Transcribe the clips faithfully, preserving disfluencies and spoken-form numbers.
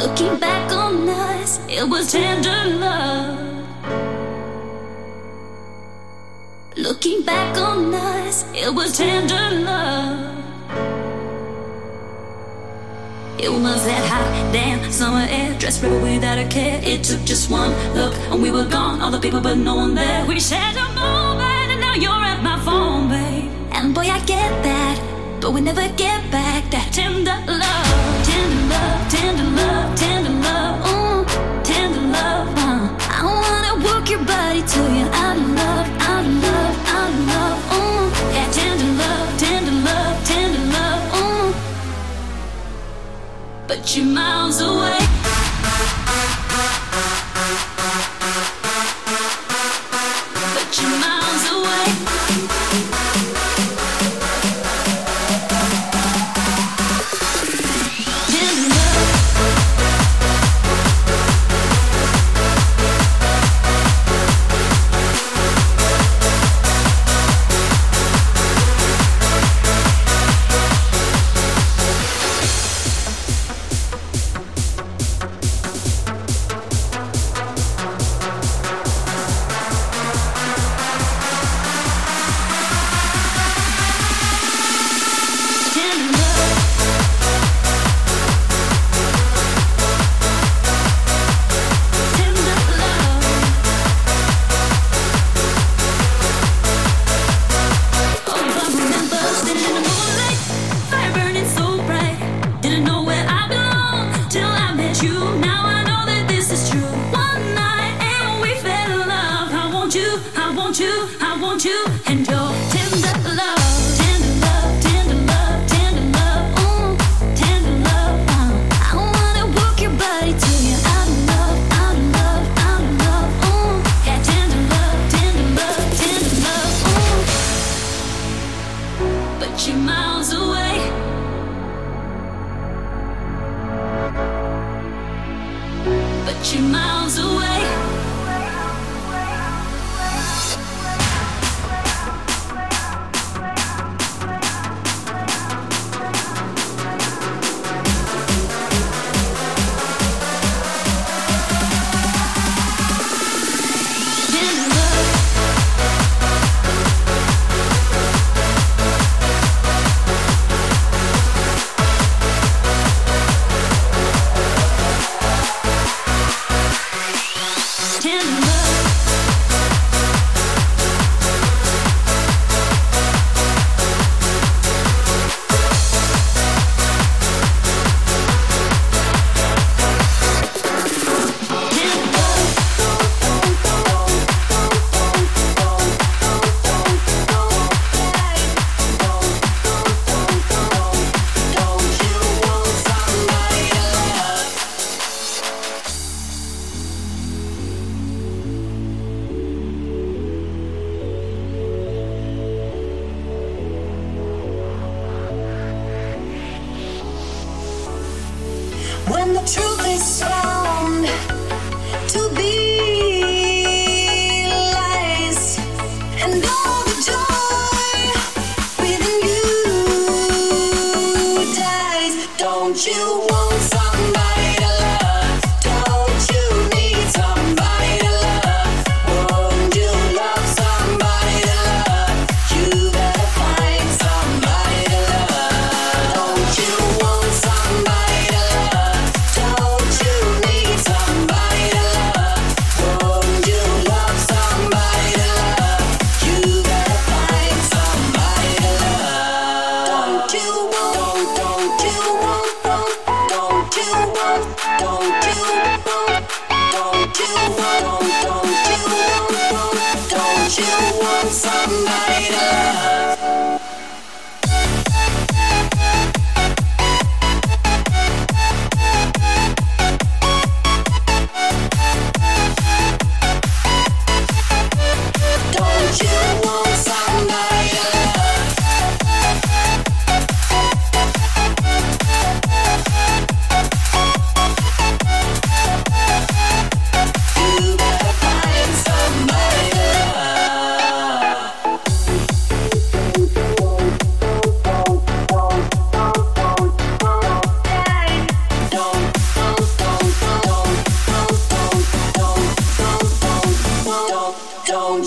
Looking back on us, it was tender love. Looking back on us, it was tender love. It was that hot, damn summer air, dressed rebel without a care. It took just one look and we were gone. All the people but no one there. We shared a moment and now you're at my phone, babe. And boy, I get that, but we never get back that tender love. Tender love, tender love, tender love, ooh, tender love, uh. I wanna work your body till you're out of love, out of love, out of love, ooh. Yeah, tender love, tender love, tender love, ooh. But you're miles away. But you're miles away. When the truth is found to be lies, and all the joy within you dies, don't you want somebody to love? Don't you need somebody to love? Won't you love somebody to love? You better find somebody to love. Don't you want somebody to love? Don't you need somebody to love? Won't you love somebody to love? You better find somebody to love. Don't you want, don't, don't you want, don't, don't you want, don't you want, don't you want, don't, don't you want, don't you want somebody to love? Don't you want somebody to love? You better find somebody to love.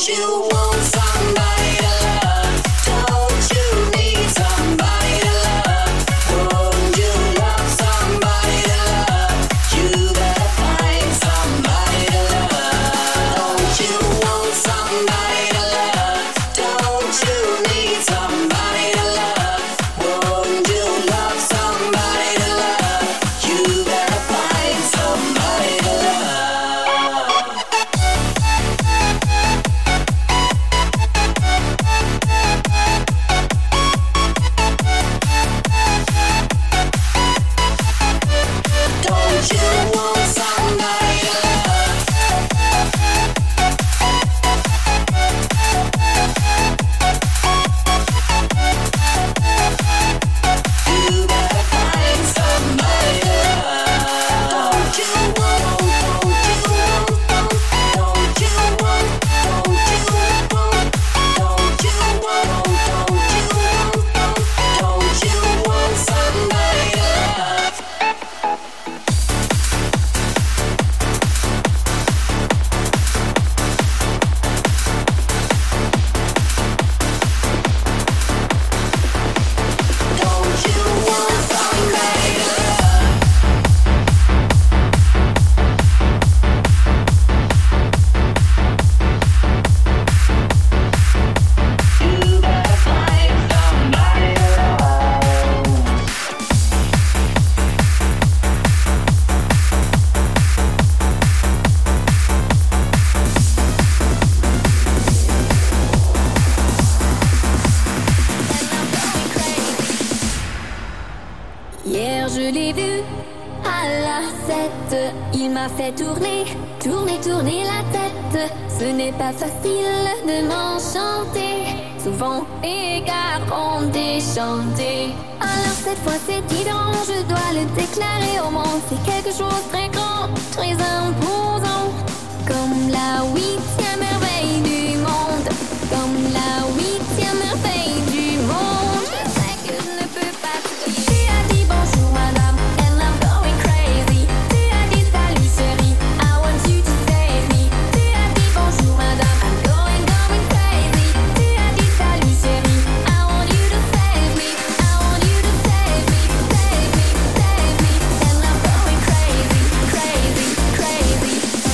Fait tourner, tourner, tourner la tête. Ce n'est pas facile de m'enchanter. Souvent, égards ont déchanté. Alors cette fois c'est différent, je dois le déclarer au monde. C'est quelque chose de très grand, très imposant. Comme la huitième merveille du monde. Comme la huitième merveille du monde. Je sais que je ne peux pas te dire. Tu as dit bonjour madame, and I'm going crazy. Tu as dit salut chérie, I want you to save me. Tu as dit bonjour madame, I'm going, going crazy. Tu as dit salut chérie, I want you to save me. I want you to save me, save me, save me. And I'm going crazy, crazy, crazy.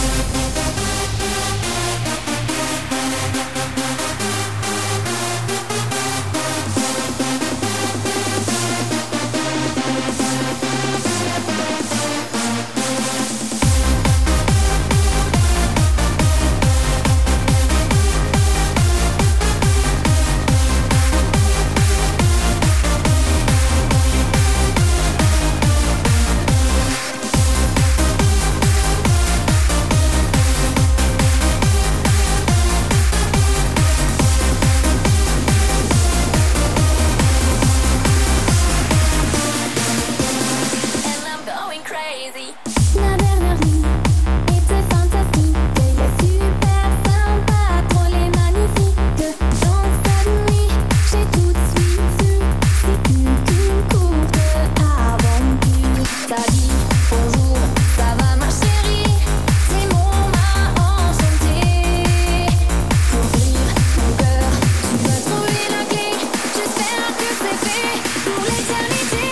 And I'm going crazy. La dernière nuit était fantastique. Il est super sympa, drôle et magnifique. Dans cette nuit, j'ai tout de suite su. C'est une, une courte aventure. Ça dit bonjour, ça va ma chérie. Ces mots m'a enchanté. Pour ouvrir mon cœur, tu dois trouver la clé. J'espère que c'est fait pour l'éternité.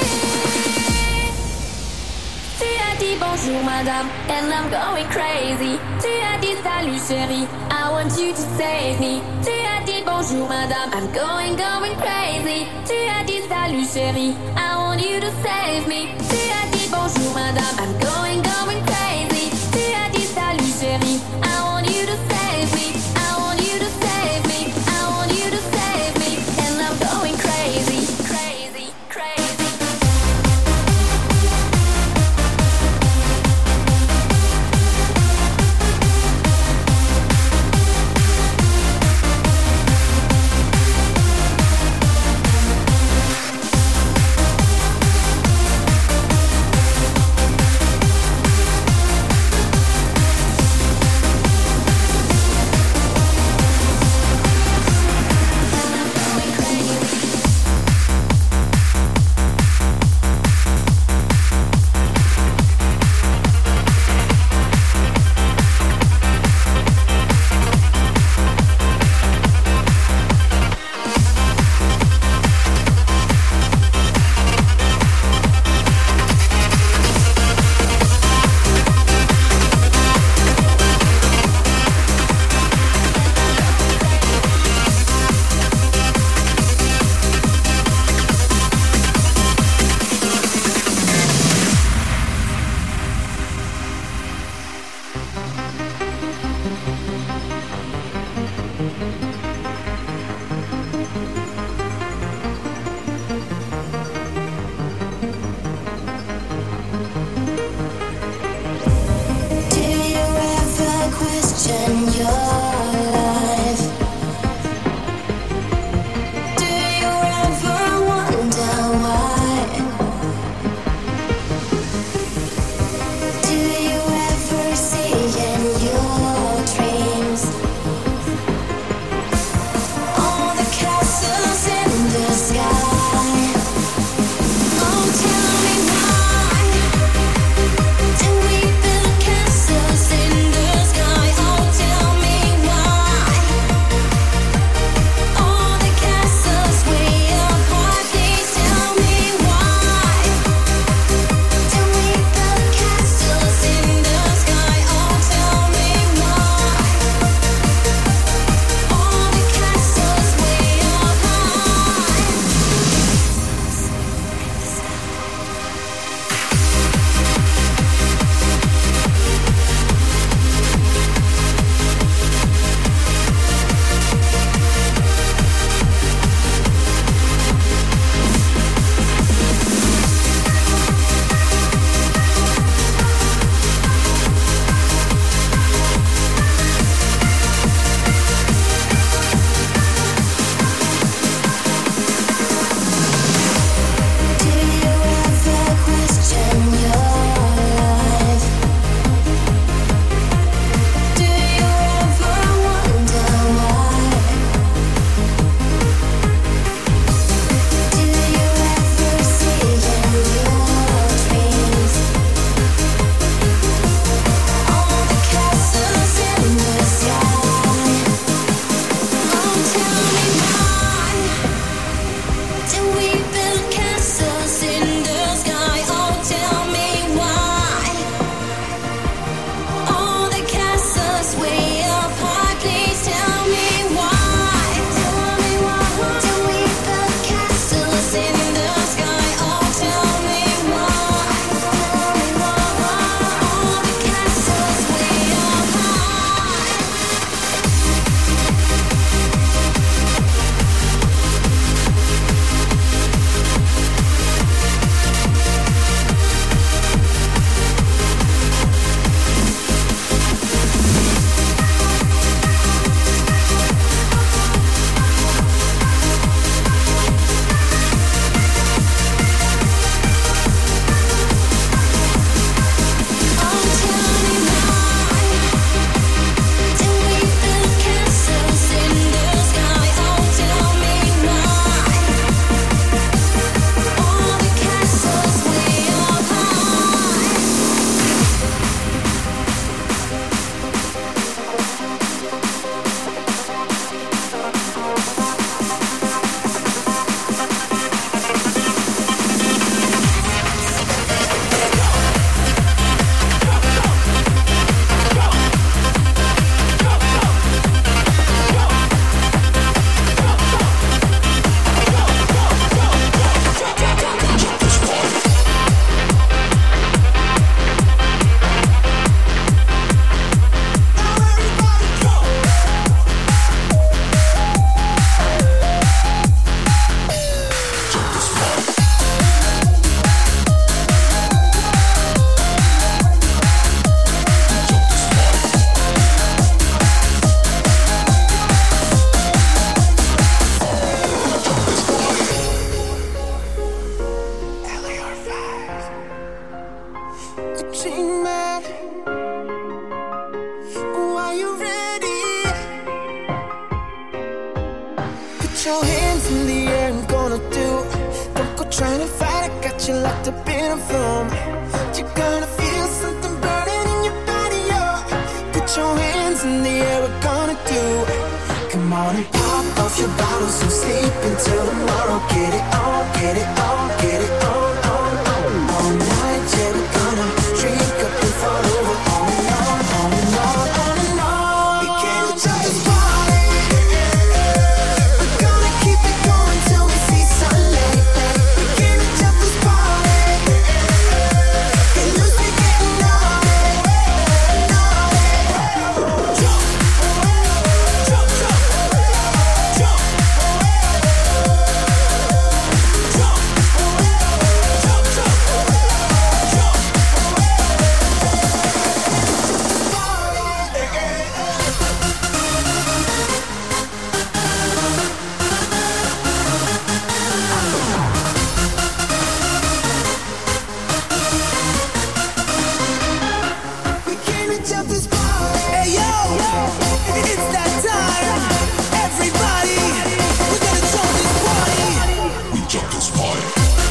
Tu as dit bonjour madame, and I'm going crazy. Tu as dit salut chérie, I want you to save me. Tu as dit bonjour madame, I'm going, going crazy. Tu as dit salut chérie, I want you to save me. Tu as dit bonjour madame, I'm going, going crazy. Tu as dit salut chérie, I want you to save me. I want you to save me. I want you to save me. And I'm going crazy, crazy, crazy. dreaming. Oh, are you ready? Put your hands in the air, I'm gonna do. Don't go trying to fight, I got you locked up in a room. You're gonna feel something burning in your body, oh. Put your hands in the air, we're gonna do. Come on and pop off your bottles and sleep until tomorrow. Get it on, get it on, get it on, on, on. All night, yeah, we're gonna drink up and fall over. On and on, on and on, on and on. We can't stop this party. We're gonna keep it going till we see sunlight. We can't stop this party. Get loose, we getting naughty, naughty. Jump, jump, jump, jump. We came to jump this party. Hey yo, it's that time. Everybody, we're gonna jump this party. We jump this party.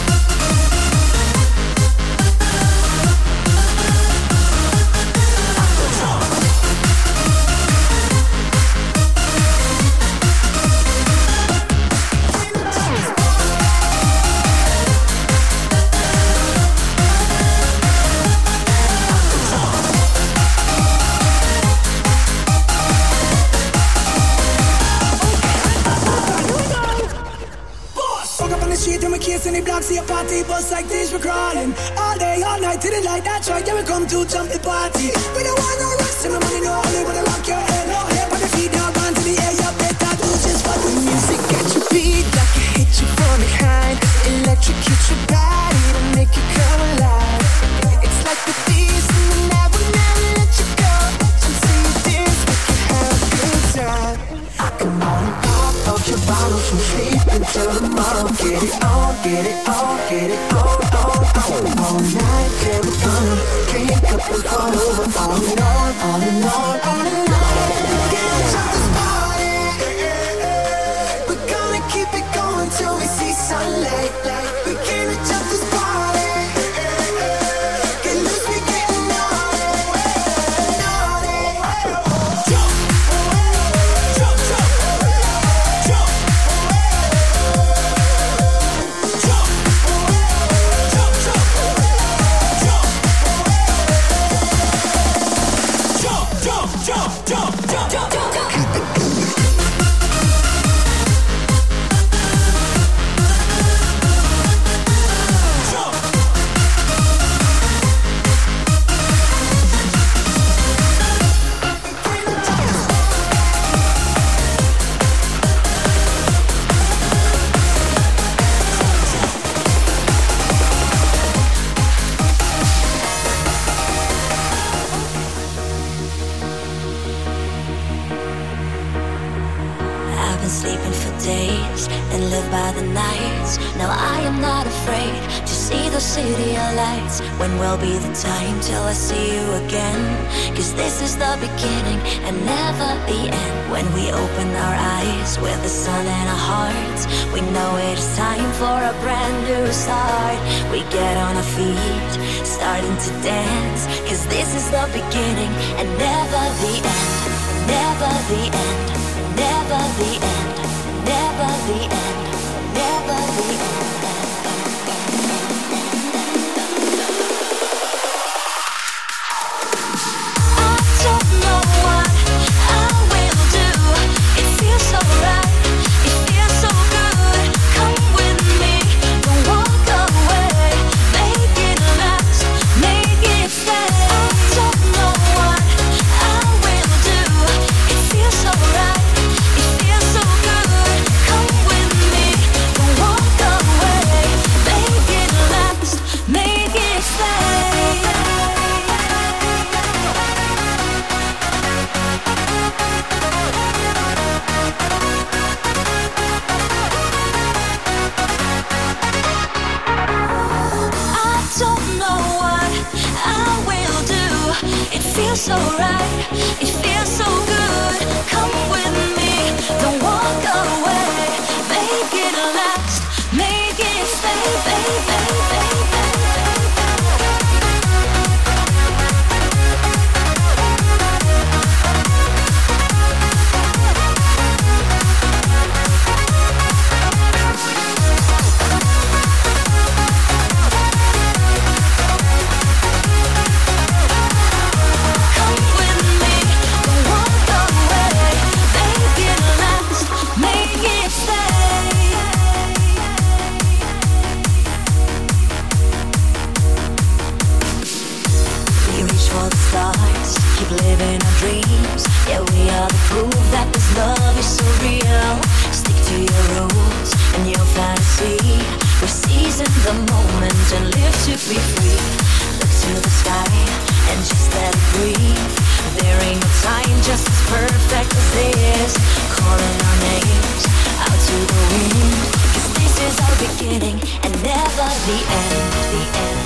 Walk up on the street and we kiss in the block, see a party bus like this, we're crawling. All day, all night, till the light, that's right, yeah, we come to jump the party. We don't want no rest, and the money, no only wanna rock your head, no hair, on the feet, now run to the air, you better do just what the music get you beat, like it hit you from behind, electrocute your body to make you come alive. It's like the thieves in the night, we'll never let you go, until you dance, we can have a good time. Come on and pop off your bottles from sleep until tomorrow. Get it on, get it on, get it on, on, on. All night, yeah, we're gonna drink up and fall over. On and on, on and on, on and on. Can't stop this party. We're gonna keep it going till we see sunlight. We can't stop this party. Get loose, we getting naughty, naughty. Jump, jump, jump, jump. I've been sleeping for days and live by the nights. Now I am not afraid to see the city lights. When will be the time till I see you again? Cause this is the beginning and never the end. When we open our eyes with the sun in our hearts, we know it is time for a brand new start. We get on our feet, starting to dance. Cause this is the beginning and never the end. Never the end. Never the end, never the end, never the end. I don't know what I will do. It feels so right, it feels so good. Come with me, don't walk away. Make it last, make it stay. I don't know what I will do. It feels so right. It feels so good. Come with me, don't walk away. feels so right, it feels so good. Come with me, don't walk away. Make it last, make it stay, baby. Prove that this love is so real. Stick to your rules and your fantasy. We seize in the moment and live to be free. Look to the sky and just let it breathe. There ain't no time just as perfect as this. Calling our names out to the wind. 'Cause this is our beginning and never the end. The end.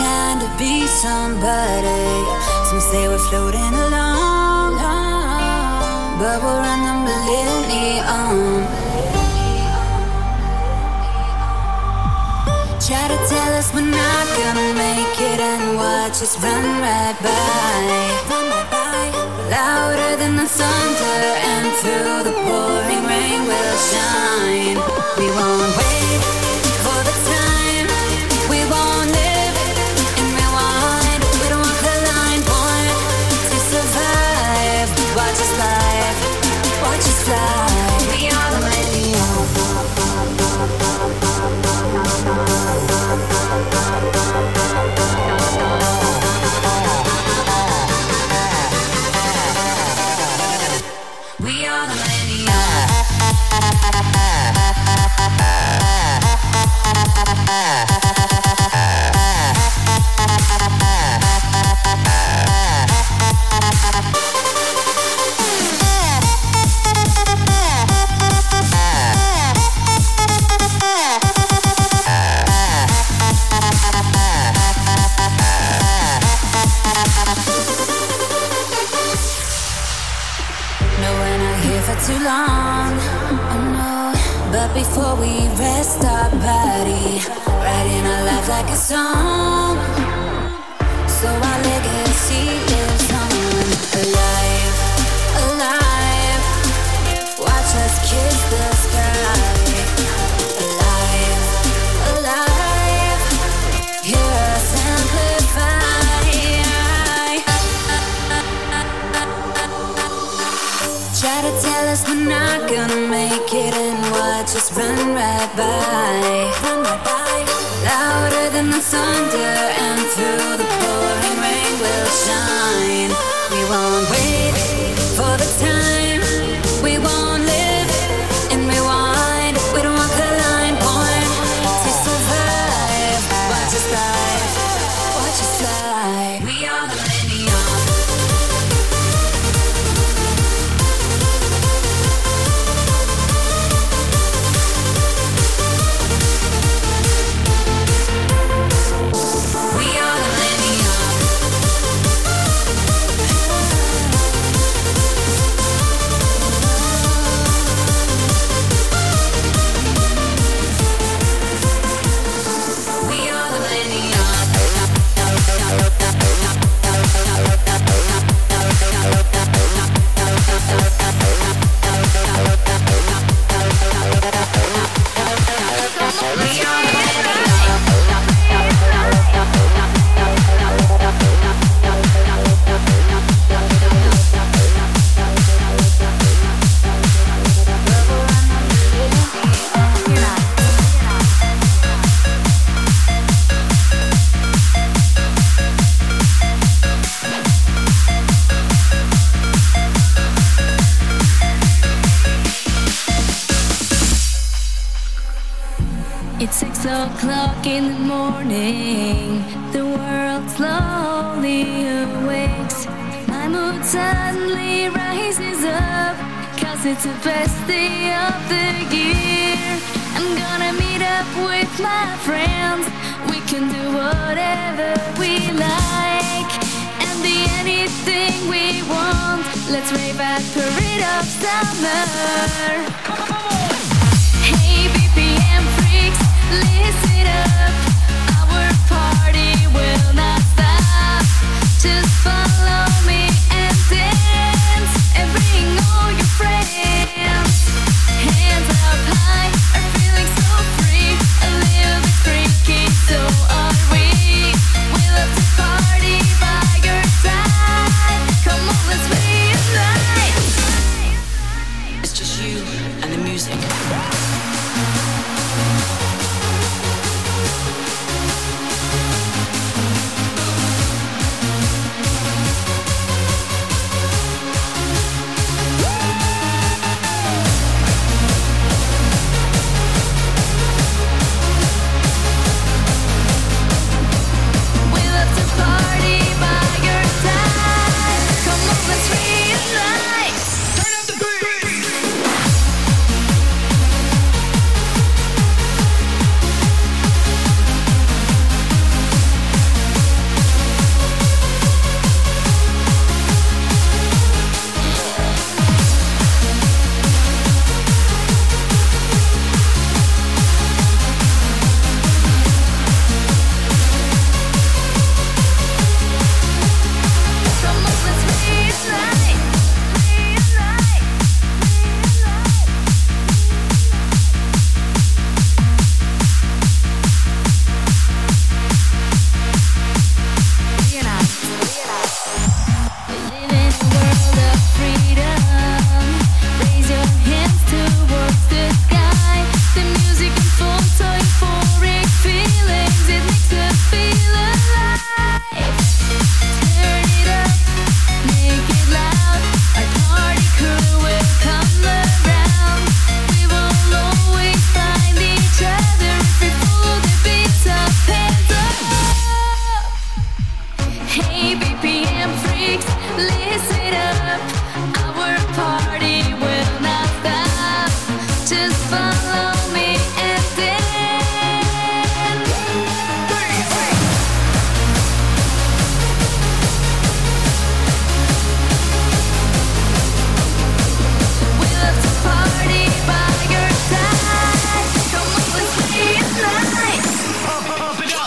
trying to be somebody. Some say we're floating along, but we're on the millennium. Try to tell us we're not gonna make it and watch us run right by. Run right by. Louder than the thunder and through the pouring rain we'll shine. We won't wait for the time. We won't live and rewind. We don't walk the line, born to survive. Watch us live, watch us fly. We are the millennium. We are the too long, oh no. But before we rest our body, writing our life like a song, so our legacy lives on. Alive, alive, watch us kiss the sky. Alive, alive, hear us amplify. Try to tell us we're not gonna make it and watch us run right by. Run right by. Louder than the thunder and through the pouring rain we'll shine. We won't wait for the time. We won't live and rewind. We don't walk the line, born to survive. Watch us fly, watch us fly. We are the millennium. It's six o'clock in the morning. The world slowly awakes. My mood suddenly rises up, 'cause it's the best day of the year. I'm gonna meet up with my friends. We can do whatever we like and be anything we want. Let's rave at Parade of Summer. Hey B P M freaks, listen up. Our party will not stop. Just follow me and dance and bring all your friends. Hands up high, are feeling so free. A little bit freaky, so are we. We love to party by your side. Come on, let's reunite. It's just you and the music. party, B P M freaks, listen up. Our party will not stop. Just follow me and dance. We love to party by your side. Come on, let's stay at night. Pump it up.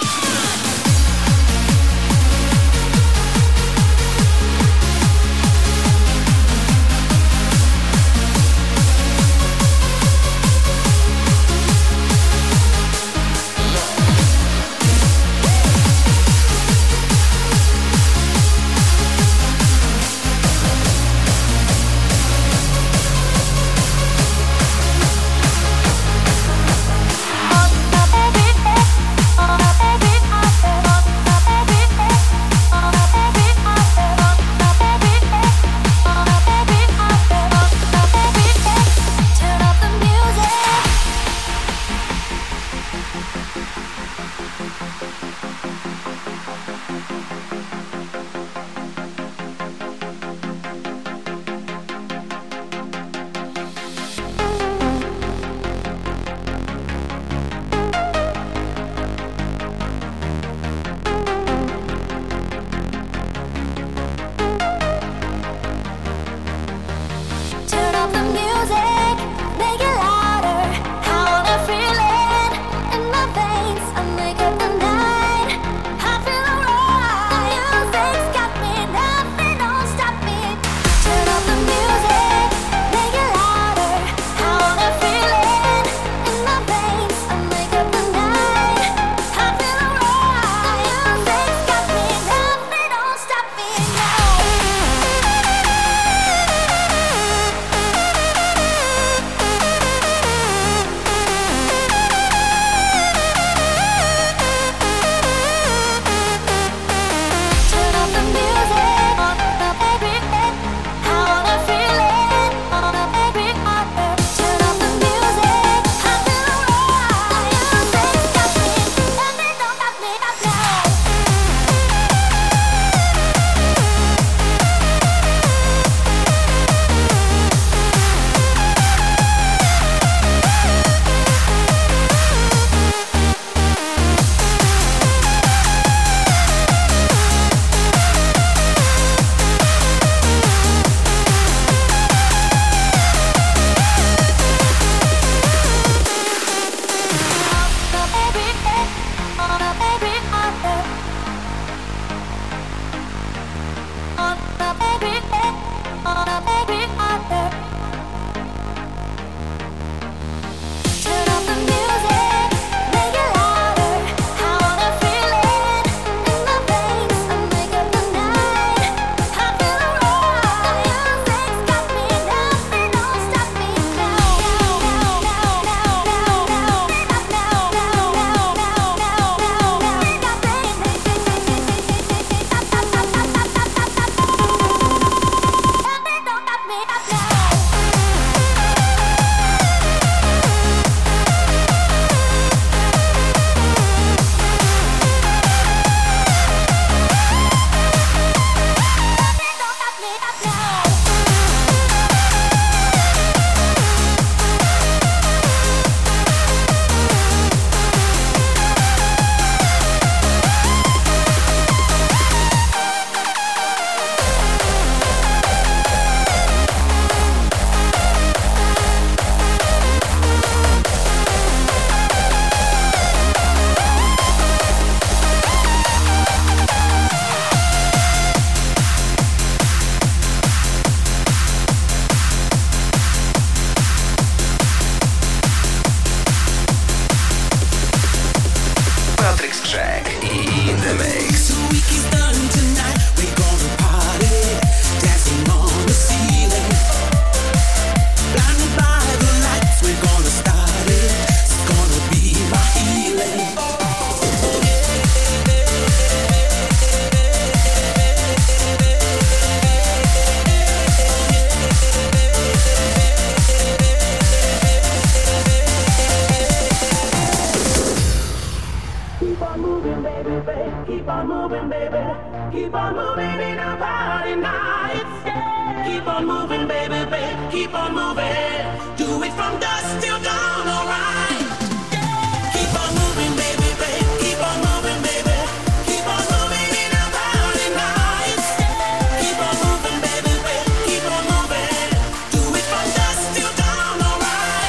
baby. Keep on moving in our party nights. Yeah. Keep on moving, baby, baby. Keep on moving. Do it from dusk till dawn, alright. Yeah. Keep on moving, baby, baby. Keep on moving, baby. Keep on moving in our party nights. Yeah. Keep on moving, baby, baby. Keep on moving. Do it from dusk till dawn, alright.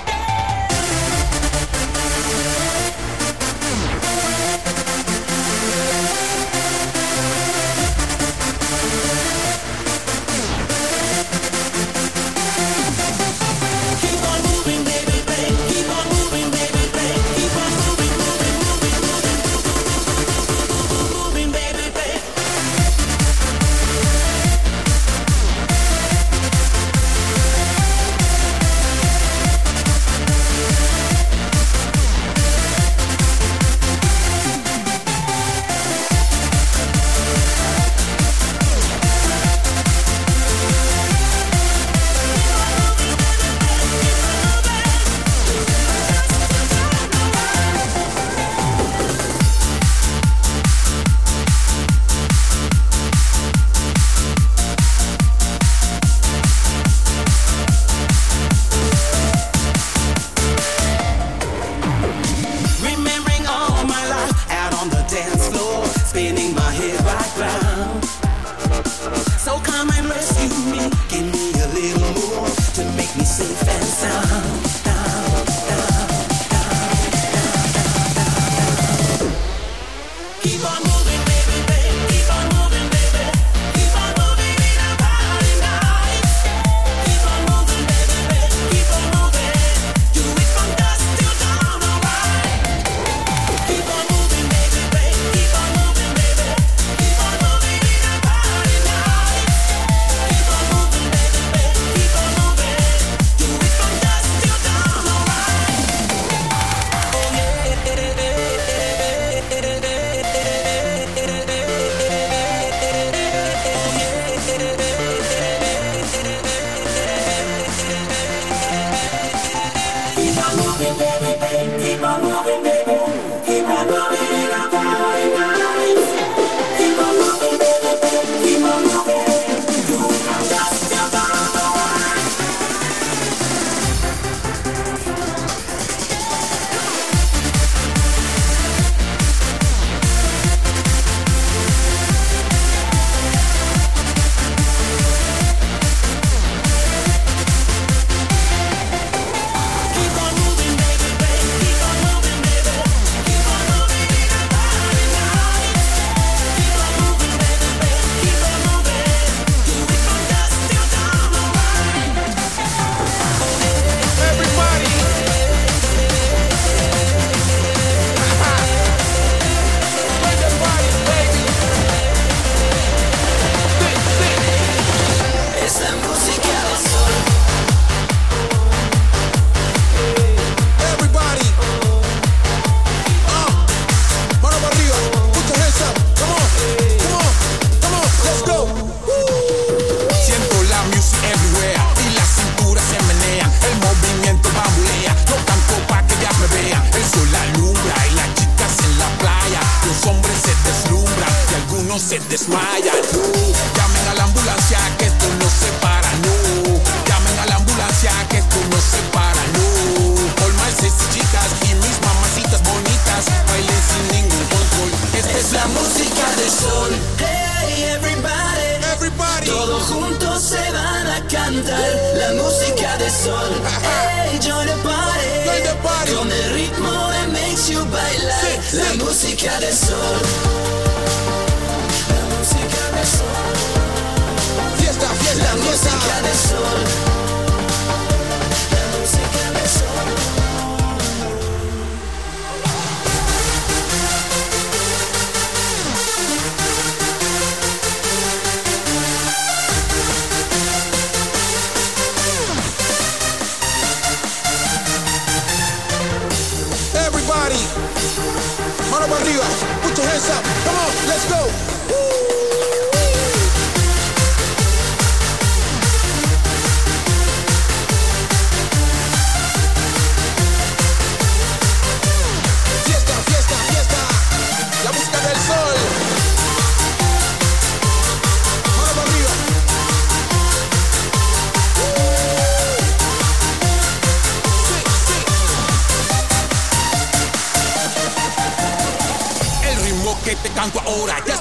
Keep on moving, baby, baby. Keep on moving, baby, baby. Keep on moving, moving, moving, moving, moving, baby, baby. Remembering all my life out on the dance floor, spinning my head right round. So come and rescue me, give me a little more to make me safe and sound. Down, down, down, down, down, down. Keep on moving, baby, baby. Keep on moving, baby. Keep on moving in our party nights. Keep on moving, baby, baby. Keep on moving. Do it from dusk till dawn, alright. Keep on moving, baby, baby. Keep on moving, baby. Keep on moving in our party nights. Keep on moving, baby, baby. Keep on moving. Do it from dusk till dawn, alright. Oh Keep on moving, baby, baby. Keep on moving, baby. Keep on moving in our party nights. Keep on moving, baby, baby. Keep on moving. Do it from dusk till dawn, alright. Keep on moving, baby, baby. Keep on moving, baby. Keep on moving in our party nights. Keep on moving, baby, baby. Keep on moving. Do it from dusk till dawn, alright. Everybody. Bring the party, baby. Es la música del sol. Everybody. Uh, mano para arriba. Put your hands up. Come on. Come on. Come on. Let's go. Siento la music everywhere y la cintura se menea. El movimiento bambulea. No canto pa' que ellas me vean. El sol alumbra y las chicas en la playa. Los hombres se deslumbran y algunos se desmayan. No, llamen a la ambulancia que esto no se para. No, llamen a la ambulancia que esto no se para. No, all my sexy chicas y mis mamacitas bonitas bailen sin ningún control. Esta es la música del sol. Hey, everybody. Everybody. Todos juntos se van a cantar la música del sol. Hey, join the party. Join the party. Con el ritmo that makes you bailar. Sí, La sí. música del sol. La música del sol. Fiesta, fiesta, La fiesta. música del sol. La música del sol. Everybody. Mano para arriba. Put your hands up. Come on. Let's go. Fiesta, fiesta, fiesta. La música del sol.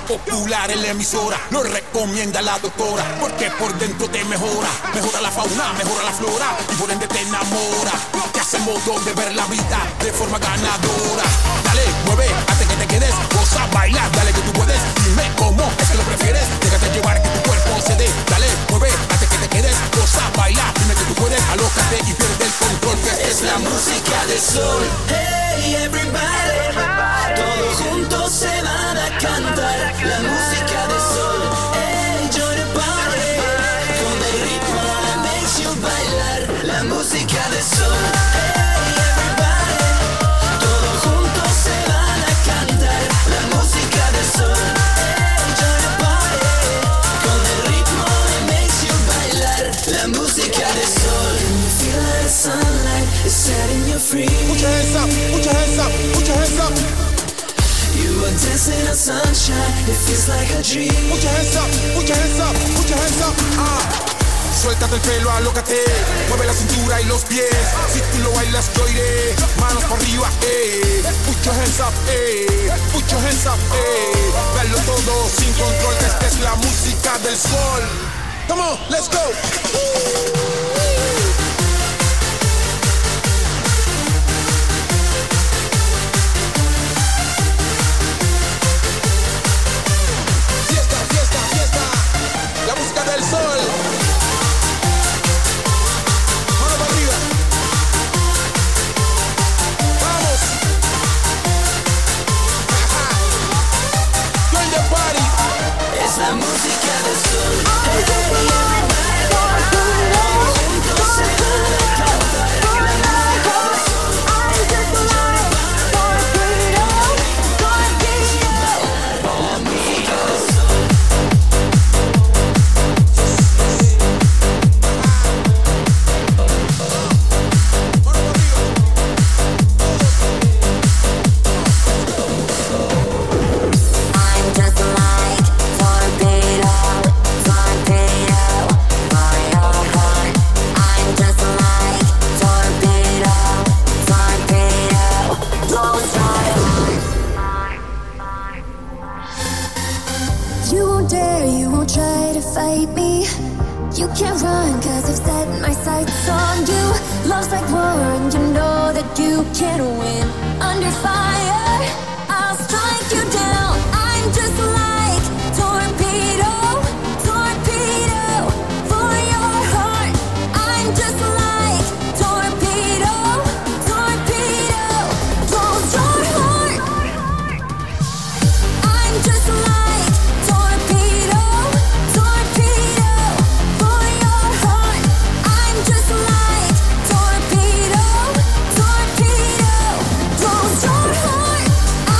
popular en la emisora, lo recomienda la doctora, porque por dentro te mejora, mejora la fauna, mejora la flora, y por ende te enamora, te hace modo de ver la vida de forma ganadora. Dale, mueve, hasta que te quedes, goza, baila, dale que tú puedes, dime cómo es que lo prefieres, déjate llevar que tu cuerpo se dé, dale, mueve, hasta que te quedes, goza, baila, dime que tú puedes, alócate y pierde el control, que Es la música del sol. Hey everybody, todos juntos se van a cantar. La música del sol. Hey, join the party, con el ritmo that makes you bailar. La música del sol. Hey everybody, todos juntos se van a cantar. La música del sol. Hey, join the party, con el ritmo that makes you bailar. La música del sol. Feel the sunlight is setting you free. Put your hands up, put your hands up, put your hands up. You are dancing in sunshine, it feels like a dream. Put your hands up, put your hands up, put your hands up. Ah. Suéltate el pelo, alócate, mueve la cintura y los pies. Si tú lo bailas, yo iré. Manos por arriba, eh. Put your hands up, eh. Put your hands up, eh. Dalo todo sin control, que esta es la música del sol. Come on, let's go. Fiesta, fiesta, fiesta. La música del sol. Mano para arriba. Vamos. Ajá. Join the party. Es la música del sol. Hey, everybody, todos juntos se van a cantar. La música del sol. La música del sol. Mano para arriba. I'm just like torpedo, torpedo for your heart. I'm just like torpedo, torpedo blows your heart. You won't dare, you won't try to fight me. You can't run, cause I've set my sights on you. Love's like war, and you know that you can't win. Under fire, I'll strike you down. I'm just like torpedo, torpedo for your heart. I'm just like torpedo, torpedo blows your heart. I'm just like torpedo, torpedo for your heart. I'm just like torpedo, torpedo blows your heart.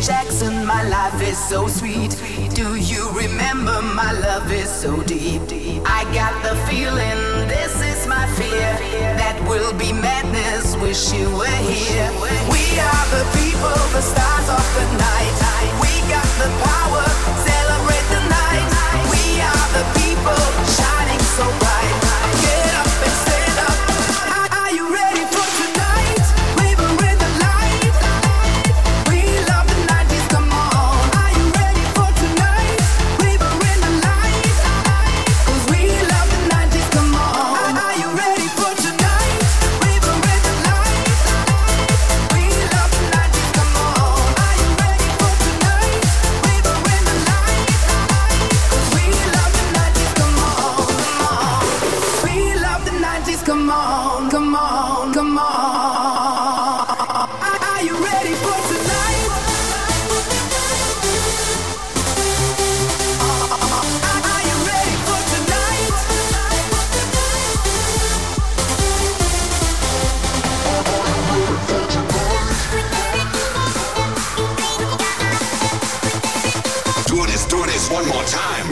Jackson, my life is so sweet. Do you remember my love is so deep? I got the feeling, this is my fear. That will be madness, wish you were here. We are the people, the stars of the night. We got the power, celebrate the night. We are the people, shining so bright. Get up and stand up. Are you ready for tonight? River in the light. We love the nineties, come on. Are you ready for tonight? River in the light. 'Cause we love the nineties, come on. Are you ready for tonight? River in the light. We love the nineties, come on. Are you ready for tonight? River in the light. 'Cause we love the nineties, come on, come on. We love the nineties, come on, come on, come on. Are you ready for tonight? Are you ready for tonight? Do this, do this one more time.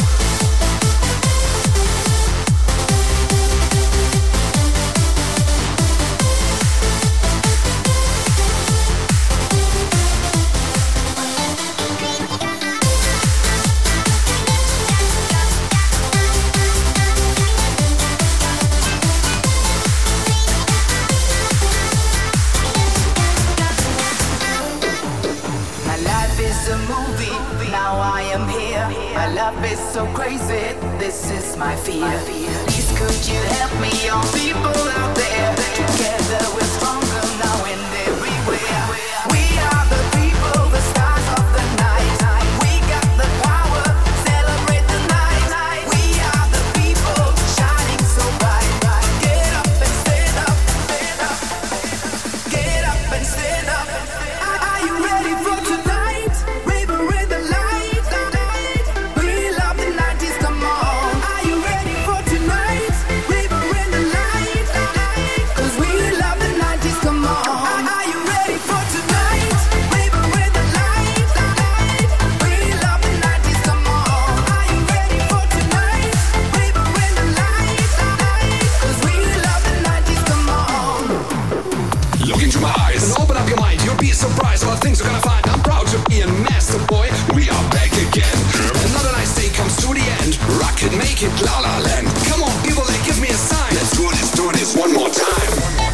My life is a movie, now I am here. My love is so crazy, this is my fear. Please could you help me, all people out there? Together we're stronger now and everywhere. We are the people, the stars of the night. We got the power, celebrate the night. We are the people, shining so bright. Get up and stand up, stand up. Get up and stand up. Are you ready for tonight? River in the light. We love the nineties, come on. Are you ready for tonight? River in the light. 'Cause we love the nineties, come on. Are you ready for tonight? River in the light. We love the nineties, come on. Are you ready for tonight? River in the light. 'Cause we love the nineties, come on. Look into my eyes and open up your mind. You'll be surprised what things you're gonna find. I'm proud to be a master boy. We are back again. Another nice day comes to the end. Rock it, make it, la la land. Come on, people, like, give me a sign. Let's do this, do this one more time.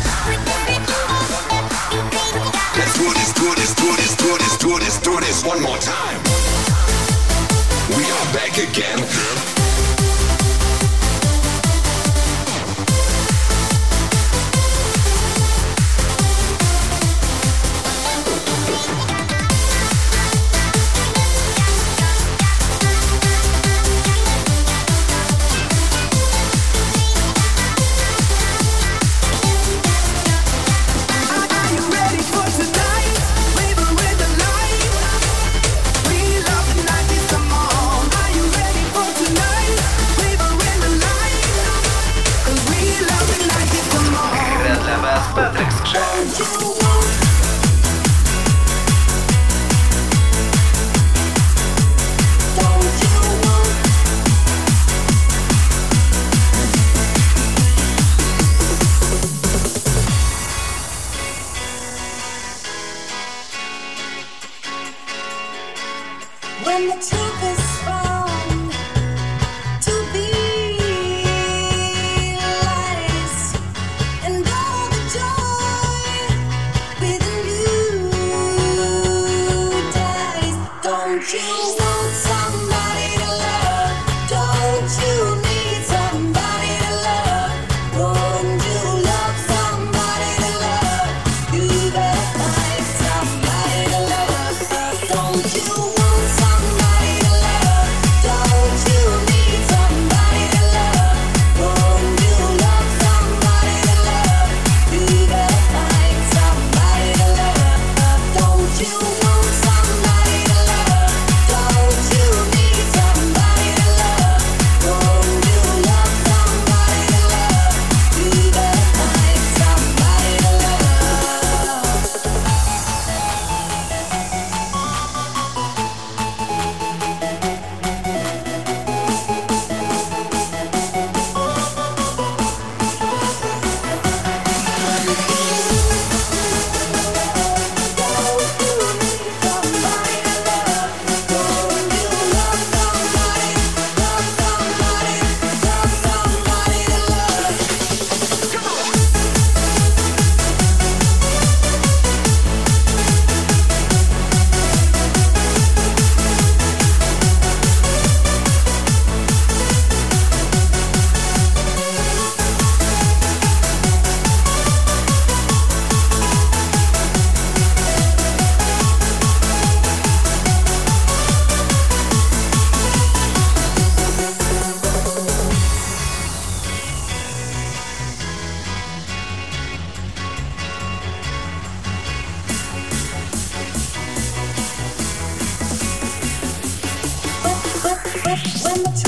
Let's do this, do this, do this, do this, do this, do this one more time. We are back again. Are you ready for tonight? River in the light. We love the nineties, come on. Are you ready for tonight? River in the light. 'Cause we love the nineties, come on. Gra dla was Patryk Skrzek. When the truth is found to be lies, and all the joy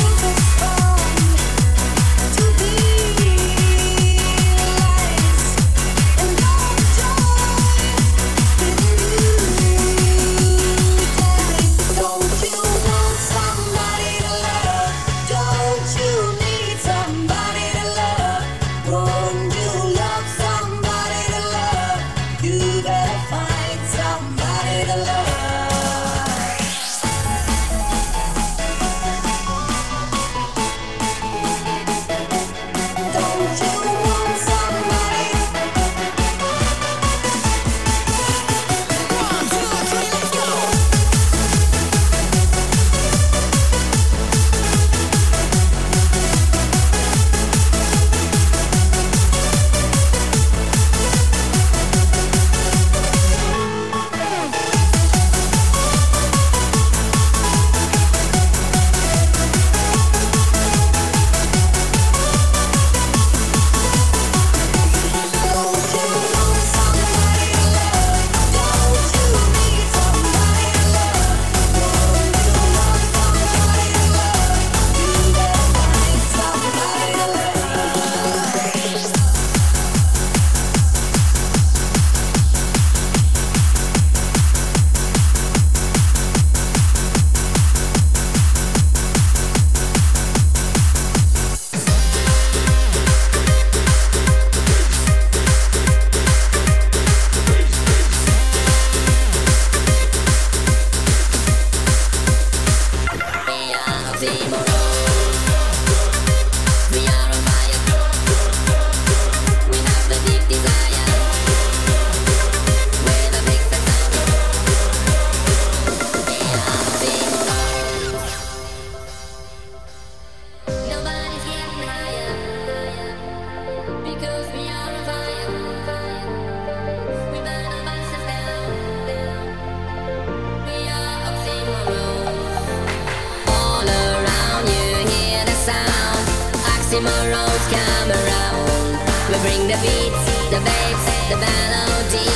Oxymorons come around. We bring the beats, the babes, the melody.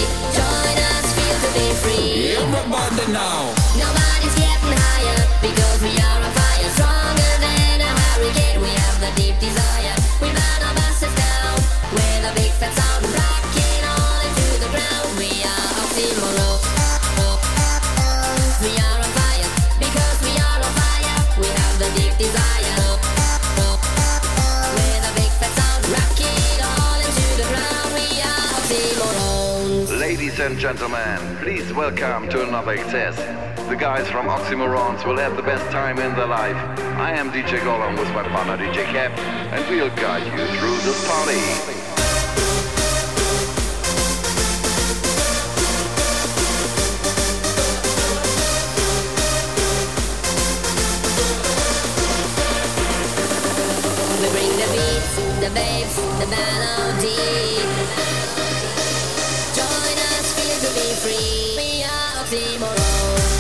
Join us, feel to be free. Everybody now. Nobody's getting higher because we are on fire. Stronger than a hurricane. We have the deep desire. We burn our masses down with a big fat sound, rocking all into the ground. We are oxymorons. We are on fire because we are on fire. We have the deep desire. Ladies and gentlemen, please welcome to another excess. The guys from Oxymorons will have the best time in their life. I am D J Gollum with my partner D J Cap, and we'll guide you through this party. We bring the beats, the babes, the melody. Join us, feel to be free. We are Oxymorons.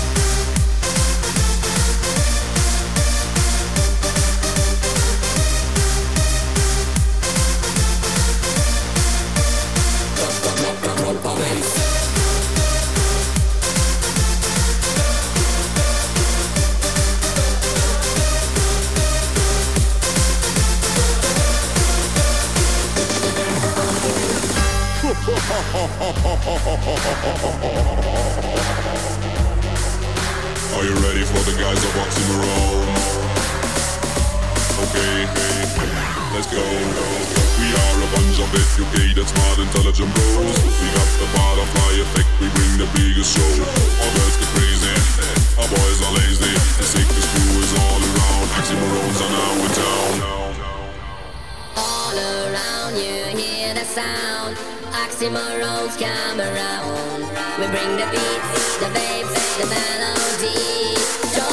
Are you ready for the guys of Oxymoron? Okay, let's go. We are a bunch of educated, smart, intelligent bros. We got the butterfly effect, we bring the biggest show. Our girls get crazy, our boys are lazy. The sickest crew is all around. Oxymorons are now in town. All around you hear the sound. Oxymorons come around. We bring the beats, the babes, the melody.